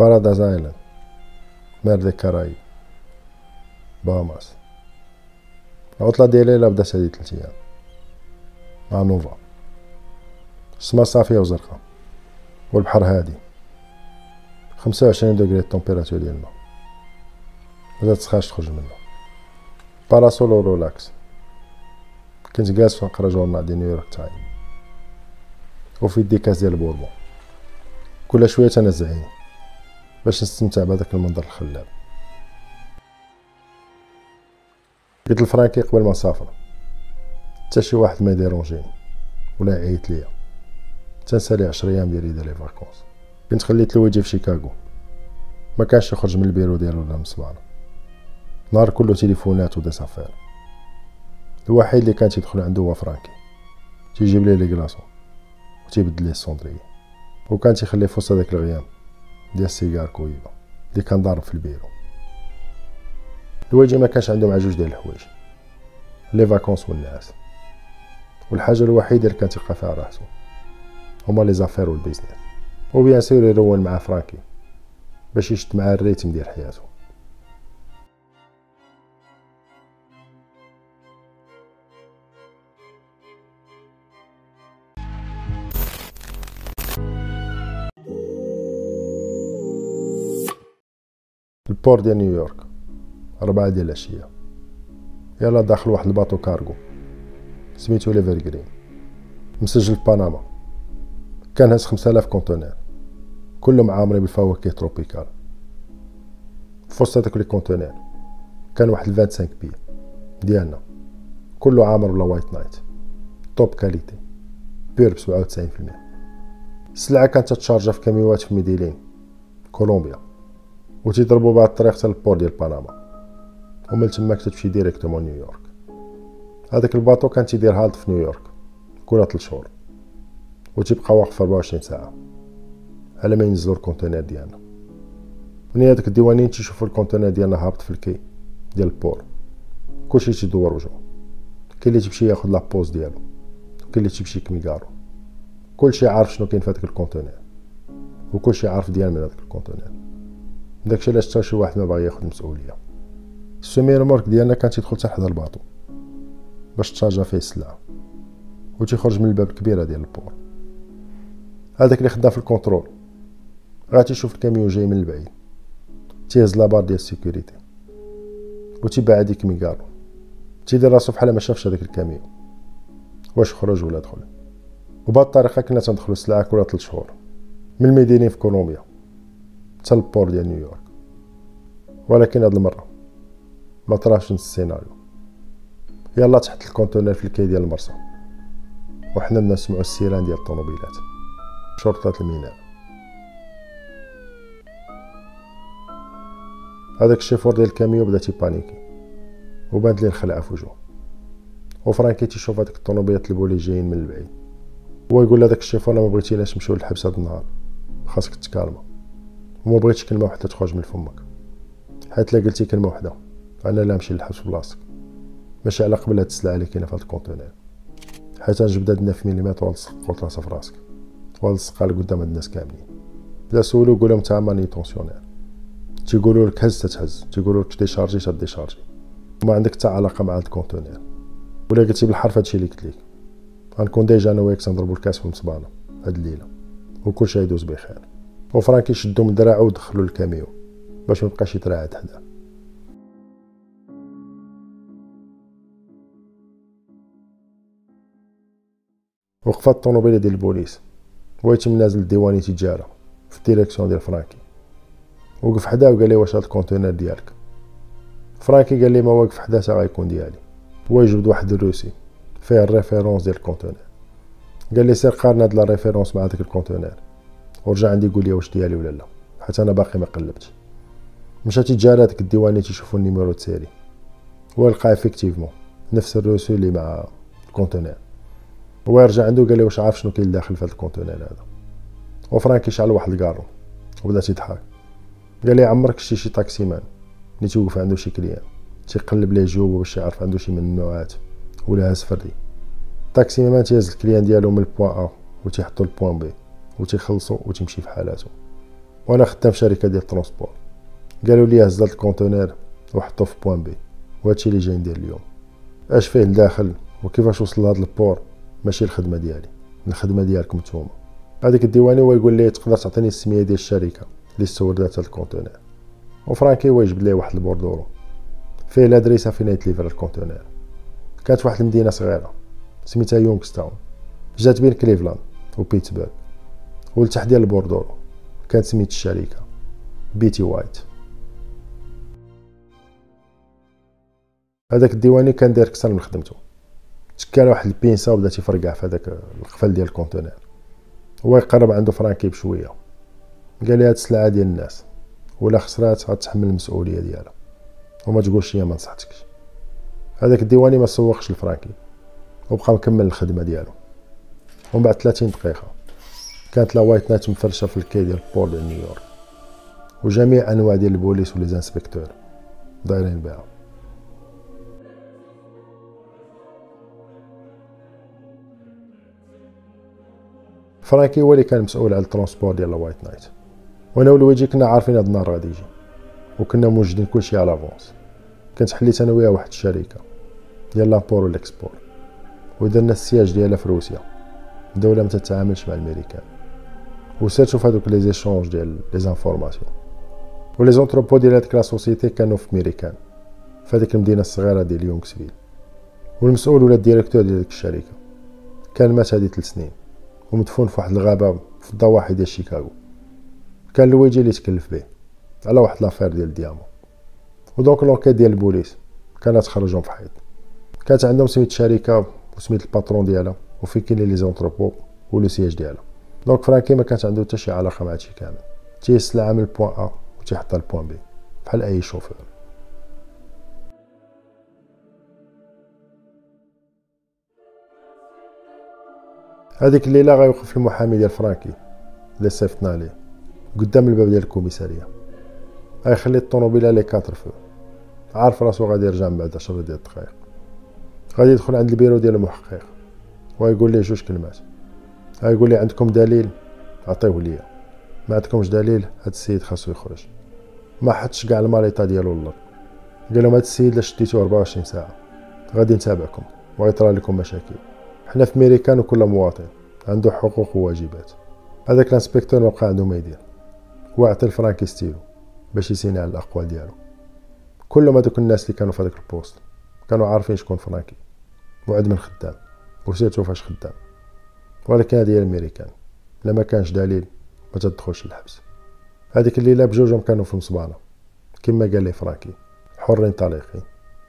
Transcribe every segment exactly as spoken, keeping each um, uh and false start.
بارادايز ايلاند، مير دي كارايب، باهاماس. العطلة ديالي لا بدات هادي تلت ايام مع نوفا. السما صافية وزرقا والبحر هادي، خمسة وعشرين دوغري التمبيراتور ديال الماء، مازال تسخاش تخرج منه. باراسول و رولاكس. كنت جالس فنقرا جورنال ديال نيويورك تايم وفي يدي كاس ديال البوربون، كل شويه تنزع عيني باش نستمتع بهذاك المنظر الخلاب. قلت لفرانكي قبل ما نسافر حتى شي واحد ما يديرونجيني ولا يعيط ليا، تنسالي عشر ايام ديالي ديال لي فاكونس. كنت خليت له يجي في شيكاغو، ما كانش يخرج من البيرو ديالو ولا من الصباله، نهار كله تليفونات ودي سافير. الوحيد اللي كان تيدخل عنده هو فرانكي، تيجيب ليه لي كلاصون وتيبدل ليه السوندري، وكان تيخلي في وسط هذاك الغيام ديال السيجار كويبه اللي كان ضارب في البيرو. الواجي ما كانش عنده مع جوج ديال الحوايج، لي فاكونس والنعاس، والحاجه الوحيده اللي كان تيبقى فيها راحتو هما لي زافير والبيزنس. وبيان سور يرون مع فرانكي باش يشد معاه الريتم ديال حياته. البور ديال نيويورك، ربعة ديال العشية، يلا داخل واحد الباطو كارغو سميتو ليفر جرين، مسجل في بنما. كان هاز خمسة آلاف كونتونير كلهم عامرين بالفواكه تروبيكال. في وسط هادوك لي كونتونير كان واحد خمسة وعشرين بي ديالنا كله عامر بلا وايت نايت، توب كاليتي بير بسبعة وتسعين في المية. السلعة كانت تتشارجا في كاميوات في ميديلين كولومبيا، و تيضربوا بهاد الطريق حتى البور ديال بنما، ومن تماك تمشي ديريكتومون نيويورك. هذاك الباطو كان تيدير هالت في نيويورك كل ثلاث شهور، و تيبقى واقف أربعة وعشرين ساعة على ما ينزلوا الكونتينر ديالنا. من هذاك الديوانيين تيشوفوا الكونتينر ديالنا هابط في الكي ديال البور، كلشي تيدور وجهو. كاين اللي تيمشي ياخد لابوز ديالو، وكاين اللي تيمشي كميكارو. كلشي عارف شنو كاين في هذاك الكونتينر، وكلشي عارف ديال من هذاك الكونتينر. داكشي علاش حتى شي واحد ما باغي ياخد المسؤوليه. السومي ريمورك ديالنا كان تيدخل حتى حدا الباطو باش تشارجا فيه السلعه، و تيخرج من الباب الكبيره ديال البور. هذاك اللي خدام في الكونترول غا تيشوف الكاميو جاي من البعيد، تيهز لابار ديال السيكوريتي و تيبعد ديك ميكارو، تيدير راسو بحال ما شافش هذاك الكاميو واش خرج ولا دخل. وبهاد الطريقه كنا تندخلو السلعه كل ثلاث شهور من الميدينين في كولومبيا حتى البور ديال نيويورك. ولكن هاد المره ما طراش نفس السيناريو. يلا تحت الكونتينر في الكي ديال المرسى، وحنا بدنا نسمعوا السيران ديال الطوموبيلات، شرطة الميناء. هذاك الشيفور ديال الكاميو بدا تيبانيكي وبانت ليه الخلعه في وجهه. وفرانكي تيشوف هذيك الطوموبيلات البولي جايين من البعيد، هو يقول لهذاك الشيفور ما بغيتيناش نمشيو للحبس هذا النهار، خاصك تكالما وما بغيتش كلمه واحده تخرج من فمك، حيت لا قلتي كلمه واحده انا لا نمشي للحبس بلاصتك، ماشي على قبل هاد السلعه اللي كاينه في هاد الكونتينر، حيت نجبد هاد تسعة مليمتر ونلصق قلت راسها في راسك ونلصقها قدام هاد الناس كاملين. لا سولو قول لهم تا ماني طونسيونير، تيقولوا لك هز تتهز، تيقولوا لك ديشارجي تديشارجي، وما عندك حتى علاقه مع هاد الكونتينر. ولا قلتي بالحرف هادشي اللي قلت لك غنكون ديجا انا وياك تنضربوا الكاس في المصبانه هاد الليله وكلشي يدوز بخير. وفرانكي شدو من دراعو ودخلو للكاميو باش ميبقاش يتراعد حداه. وقفات الطوموبيله ديال البوليس، هو يتم نازل الديواني تيجارة في الديريكسيون ديال فرانكي. وقف حداه وقال لي واش هاد الكونتينر ديالك؟ فرانكي قال لي ما واقف حداه تا غيكون ديالي. هو يجبد واحد الروسي فيه الريفيرونس ديال الكونتينر، قال لي سير قارن هاد لا ريفيرونس مع داك الكونتينر ورجع عندي قول لي واش ديالي ولا لا، حيت انا باقي ما قلبتش. مشى تيجارة داك الديواني تيشوفوا النيميرو تسيري، هو لقى افيكتيفمون نفس الروسي اللي مع الكونتينر. هو يرجع عنده قال لي واش عارف شنو كاين داخل في هذا الكونتينر هذا؟ وفرانكي شعل واحد الكارو وبدا تيضحك، قال لي عمرك شتي شي طاكسي مان اللي توقف عنده شي كليان تيقلب ليه جيوبو باش يعرف عنده شي من النوعات ولا هاز فردي؟ طاكسي مان تيهز الكليان ديالو من البوان ا و تيحطو للبوان بي و تيخلصو و تيمشي في حالاته. وانا خدام في شركه ديال الترونسبور. قالوا لي هز هاد الكونتينر وحطوه في بوان بي، وهادشي اللي جاي ندير اليوم. اش فيه لداخل وكيفاش وصل لهاد البور ماشي الخدمه ديالي، الخدمه ديالكم نتوما. هذاك الديواني هو يقول لي تقدر تعطيني السميه ديال الشركه اللي استوردات هاد الكونتينر، وفرانكي هو يجبد لي واحد البوردورو فيه الادريسه فين يتليفر الكونتينر. كانت في واحد المدينه صغيره سميتها يونغستاون، جات بين كليفلاند وبيتسبرغ، والتحت ديال البوردورو كانت سميت الشركه بيتي وايت. هذاك الديواني كان داير كثر من خدمته، تكال واحد البينسا وبدا تيفرقع في هذاك القفل ديال الكونتينر. هو يقرب عنده فرانكي بشويه، قال لي هاد السلعه ديال الناس ولا خسرات غتحمل المسؤوليه ديالها وما تقولش ليا ما نصحتكش. هذاك الديواني ما سوقش لفرانكي وبقى مكمل الخدمه ديالو. ومن بعد ثلاثين دقيقه كانت لا وايت نايت مفرشه في الكي ديال البور ديال نيويورك، وجميع انواع ديال البوليس ولي زانسبكتور دايرين بها. فرانكي هو اللي كان مسؤول على الترونسبور ديال لا وايت نايت، وانا ولويجي كنا عارفين هاد النهار غادي يجي وكنا موجدين كلشي على لافونس. كنت حليت انا وياه واحد الشركه ديال لامبور والاكسبور، ودرنا السياج ديالها في روسيا، دوله ما تتعاملش مع الامريكان، وسيرتو في هذوك لي زيشونج ديال لي زانفورماسيون. ولي زونتروبو ديال هذيك لا سوسيتي كانوا في ميريكان في هذيك المدينه الصغيره ديال يونغسفيل. والمسؤول ولا الديريكتور ديال ديك الشركه كان مات هذه ثلاث سنين ومدفون في واحد الغابه في الضواحي ديال شيكاغو. كان لويجي اللي تكلف به على واحد لافير ديال الديامون. ودونك لونكيت ديال البوليس كانت تخرجهم في حيط. كانت عندهم سميت الشركه وسميت الباترون ديالها وفين كاين لي زونتروبو ولو سياج ديالها. دونك فرانكي ما كانت عنده حتى شي علاقه مع هادشي كامل، تيسلع من البوان ا وتيحطها للبوان بي بحال اي شوفور. هذيك الليله غيوقف المحامي ديال فرانكي اللي صيفطنا ليه قدام الباب ديال الكوميساريه، غيخلي الطوموبيله لي كاتر فو، عارف راسو غادي يرجع من بعد عشرة ديال الدقائق. غادي يدخل عند البيرو ديال المحقق ويقول ليه جوج كلمات. غيقول لي عندكم دليل عطيوه ليا، ما عندكمش دليل هاد السيد خاصو يخرج. ما حطش كاع الماليطه ديالو للارض، قال لهم هاد السيد لا شديتوه أربعة وعشرين ساعه غادي نتابعكم وغيطرا لكم مشاكل. حنا في ميريكان وكل مواطن عنده حقوق وواجبات. هذاك الانسبكتور ما بقى عنده ما يدير، وعطى لفرانكي ستيلو باش يسيني على الاقوال ديالو. كلهم هذوك الناس اللي كانوا في هذاك البوست كانوا عارفين شكون فرانكي وعد من خدام وسيرتو فاش خدام. ولكن هذه هي الميريكان، الا ما كانش دليل ما تدخلش الحبس. هذيك الليله بجوجهم كانوا في المصبانه كما قال لي فرانكي، حرين طليقين.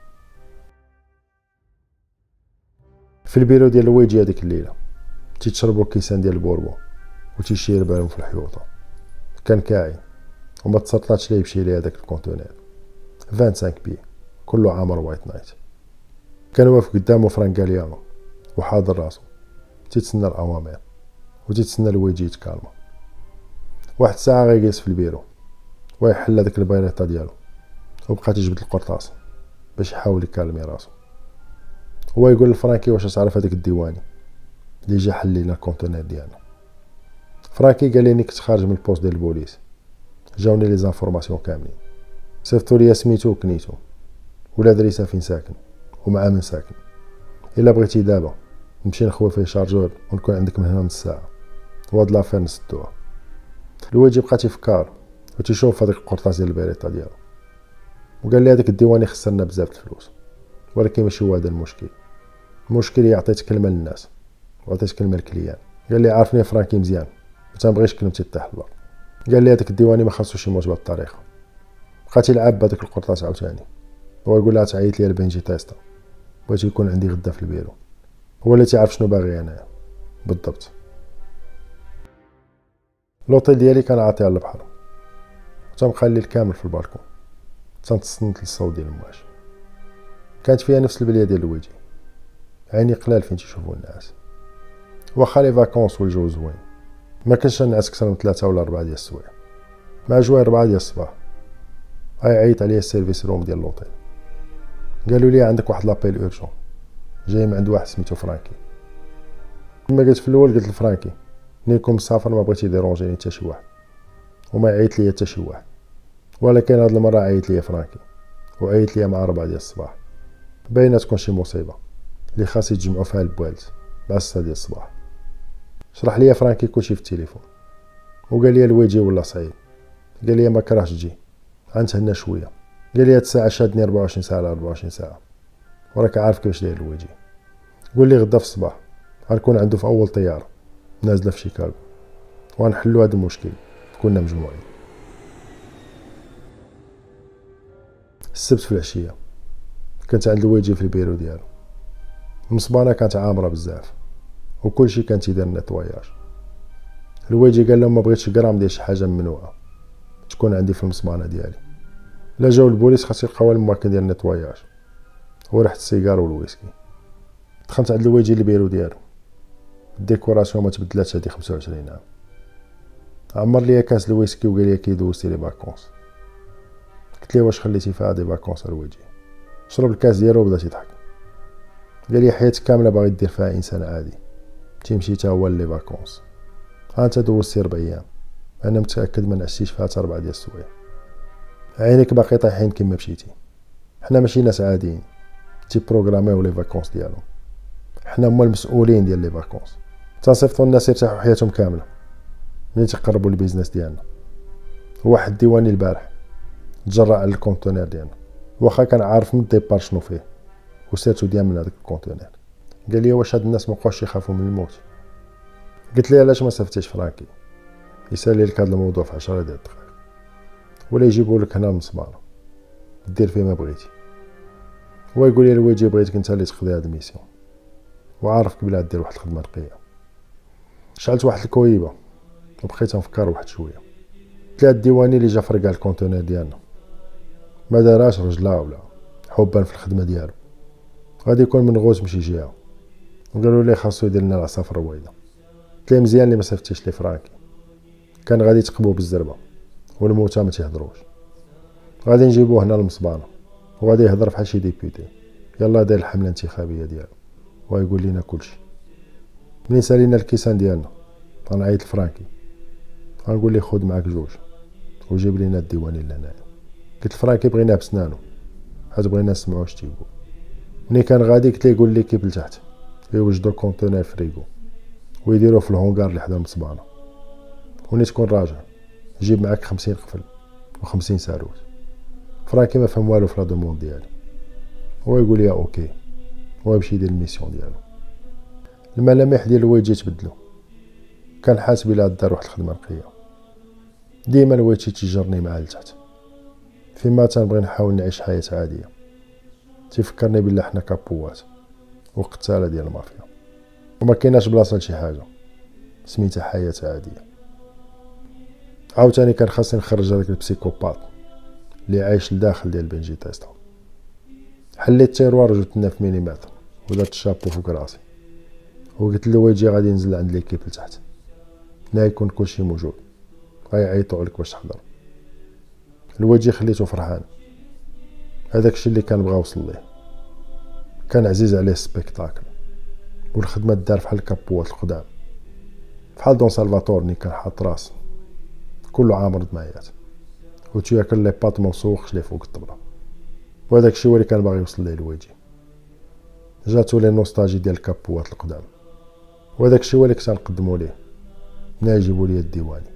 في البيرو ديال لويجي هذيك الليله تيتشربوا كيسان ديال البوربو وتيشير بالهم في الحيوطه. كان كاعي وما تسرطاتش ليه يمشي ليه هذاك الكونتينر خمسة وعشرين بي كله عامر وايت نايت. كان واقف قدامه فرانك غاليانو وحاضر راسو تيتسنى الاوامر وتيتسنى لويجي يتكالما. واحد الساعه غيجلس في البيرو ويحل هذاك البيريطه ديالو وبقى تيجبد القرطاس باش يحاول يكالمي راسو. هو يقول لفرانكي واش تعرف هذاك الديواني اللي جا حل لينا الكونتينر ديالنا. فرانكي قال لي كنت خارج من البوست ديال البوليس، جاوني لي زانفورماسيون كاملين، صيفطوا لي سميتو وكنيتو ولا دريسه فين ساكن ومع من ساكن. الا بغيتي دابا نمشي نخوي فيه شارجور ونكون عندك من هنا نص ساعه وهاد لافير نسدوها. لويجي بقى تيفكر وتيشوف هذيك القرطاس ديال البيريطه ديالو وقال لي هذاك الديواني خسرنا بزاف الفلوس، ولكن ماشي هو هذا المشكل. المشكل هي عطيت كلمه للناس وعطيت كلمه للكليان. قال لي عارفني فرانكي مزيان ما تنبغيش كلمتي تطيح البر. قال لي هذاك الديواني ما خاصوش يموت بهذه الطريقه. بقى تيلعب بهذاك القرطاس عاوتاني هو يقول لها تعيط لي لبنجي تيستا بغيت يكون عندي غدا في البيرو. هو اللي تيعرف شنو باغي انايا بالضبط. لوطيل ديالي كان عاطي على البحر وتنبقى الليل كامل في البالكون تنتصنت للصوت ديال المواج. كانت فيها نفس البليه ديال لويجي، عيني قلال فين تيشوفوا الناس. واخا لي فاكونس والجو زوين ما كانش نعس اكثر من ثلاثة ولا أربعة ديال السوايع. مع جوي أربعة ديال الصباح عيط عليا السيرفيس روم ديال لوطيل، قالوا لي عندك واحد لابيل اورجون جاي من عند واحد سميتو فرانكي. كما قلت في الاول قلت لفرانكي نيكم مسافر ما بغيتي ديرونجيني حتى شي واحد وما يعيط ليا حتى شي واحد. ولكن هاد المره عيط ليا فرانكي، وعيط ليا مع ربعة ديال الصباح. باينه تكون شي مصيبه اللي خاص يتجمعوا فيها البوالد مع ستة ديال الصباح. شرح ليا فرانكي كلشي في التليفون، وقال لي الويجي ولا صعيب. قال لي ما كرهش تجي، غنتهنى شويه. قال لي هاد الساعه شادني أربعة وعشرين ساعه على أربعة وعشرين ساعه، وراك عارف كيفاش داير الويجي. قول لي غدا في الصباح غنكون عنده في اول طياره نازله في شيكاغو، وغنحلوا هذا المشكل كنا مجموعين. السبت في العشيه كنت عند الويجي في البيرو ديالو. المصبانه كانت عامره بزاف وكلشي كان تيدير نيطواياج. الويجي قال لهم ما بغيتش غرام ديال شي حاجه ممنوعه تكون عندي في المصبانه ديالي. لا جاو البوليس خاص يلقاو الماكين ديال النيطواياج وريحه السيجار والويسكي. دخلت عند الويجي البيرو ديالو، الديكوراسيون ما تبدلاتش هادي خمسة وعشرين عام. عمر ليا كاس الويسكي وقال لي كي دوزتي لي فاكونس. قلت ليه واش خليتي فيها دي فاكونس الويجي؟ شرب الكاس ديالو وبدا تيضحك. قال لي حياتك كامله باغي دير فيها انسان عادي، تيمشي تا هو لي فاكونس. ها انت دوزتي ربع ايام، انا متاكد ما نعستيش فيها حتى ربعه ديال السوايع. عينيك باقي طايحين كيما مشيتي. حنا ماشي ناس عاديين تي بروغراميو لي فاكونس ديالهم، حنا هما المسؤولين ديال لي فاكونس. تنصيفطوا الناس يرتاحوا حياتهم كامله ملي تيقربوا البيزنس ديالنا. واحد ديواني البارح تجرأ على الكونتونير ديالنا، واخا كان عارف من الديبار شنو فيه وسيرتو ديال من هذاك الكونتونير. قال لي واش هاد الناس مابقاوش يخافوا من الموت؟ قلت ليه علاش ما صيفطتيش فرانكي يسالي لك هذا الموضوع في عشرة ديال الدقائق، ولا يجيبوا لك هنا المصبانه دير فيه ما بغيتي. هو يقول لي الويجي بغيتك انت اللي تقضي هاد الميسيون، وعارفك بلا دير واحد الخدمه نقيه. شعلت واحد الكويبه وبقيت نفكر واحد شويه. قلت لها الديواني اللي جا فرقع الكونتونير ديالنا ما داراش رجلا ولا حبا في الخدمه ديالو، غادي يكون من غوز مشي جهه. وقالوا لي خاصو يدير لنا العصافره الرويده. قلت ليه مزيان اللي ما صيفطتيش لي فرانكي، كان غادي تقبو بالزربه والموتى ما تيهضروش. غادي نجيبوه هنا للمصبانه وغادي يهضر بحال شي ديبيوتي يلا داير الحمله الانتخابيه ديالو ويقول لنا كلشي. ملي سالينا الكيسان ديالنا غنعيط لفرانكي غنقول ليه خذ معاك جوج وجيب لينا الديواني لهنايا. قلت لفرانكي بغيناه بسنانو حيت بغينا نسمعو اش تيقول. ملي كان غادي قلت ليه قول ليكيب لتحت يوجدوا كونتونير فريغو ويديروه في الهونغار اللي حدا المصبانه، وني تكون راجع جيب معاك خمسين قفل وخمسين ساروت. فرانكي ما فهم والو في لا دوموند ديالي، هو يقول لي اوكي، هو يمشي يدير الميسيون ديالو. الملامح ديال الويجي تبدلو، كان حاسب الى دار واحد الخدمه نقيه. ديما الويجي تيجرني معاه لتحت فيما تنبغي نحاول نعيش حياه عاديه. تيفكرني بلا حنا كابوات وقتاله ديال المافيا، وما كايناش بلاصه لشي حاجه سميتها حياه عاديه. عاوتاني كان خاصني نخرج هذاك البسيكوبات اللي عايش لداخل ديال بنجي تيستا. حليت التيروار وجبت لنا في ميليمتر ودرت الشابو فوق راسي وقلت له ويجي غادي ننزل عند ليكيب لتحت، هنا يكون كلشي موجود غيعيطوا عليك باش تحضر. الوجه خليته فرحان، هذاك الشيء اللي كان بغا وصل ليه. كان عزيز عليه السبيكتاكل والخدمه دار بحال الكابوات القدام، بحال دون سالفاتور ني كان حاط راس كله عامر دمايات وتياكل لي باط موسوخش ليه فوق الطبله. وهذاك الشيء هو اللي كان باغي يوصل ليه الويجي. جاتو لي نوستالجي ديال الكابوات القدام، وهذاك الشيء هو اللي كنت نقدمو ليه ملي يجيبوا لي الديواني.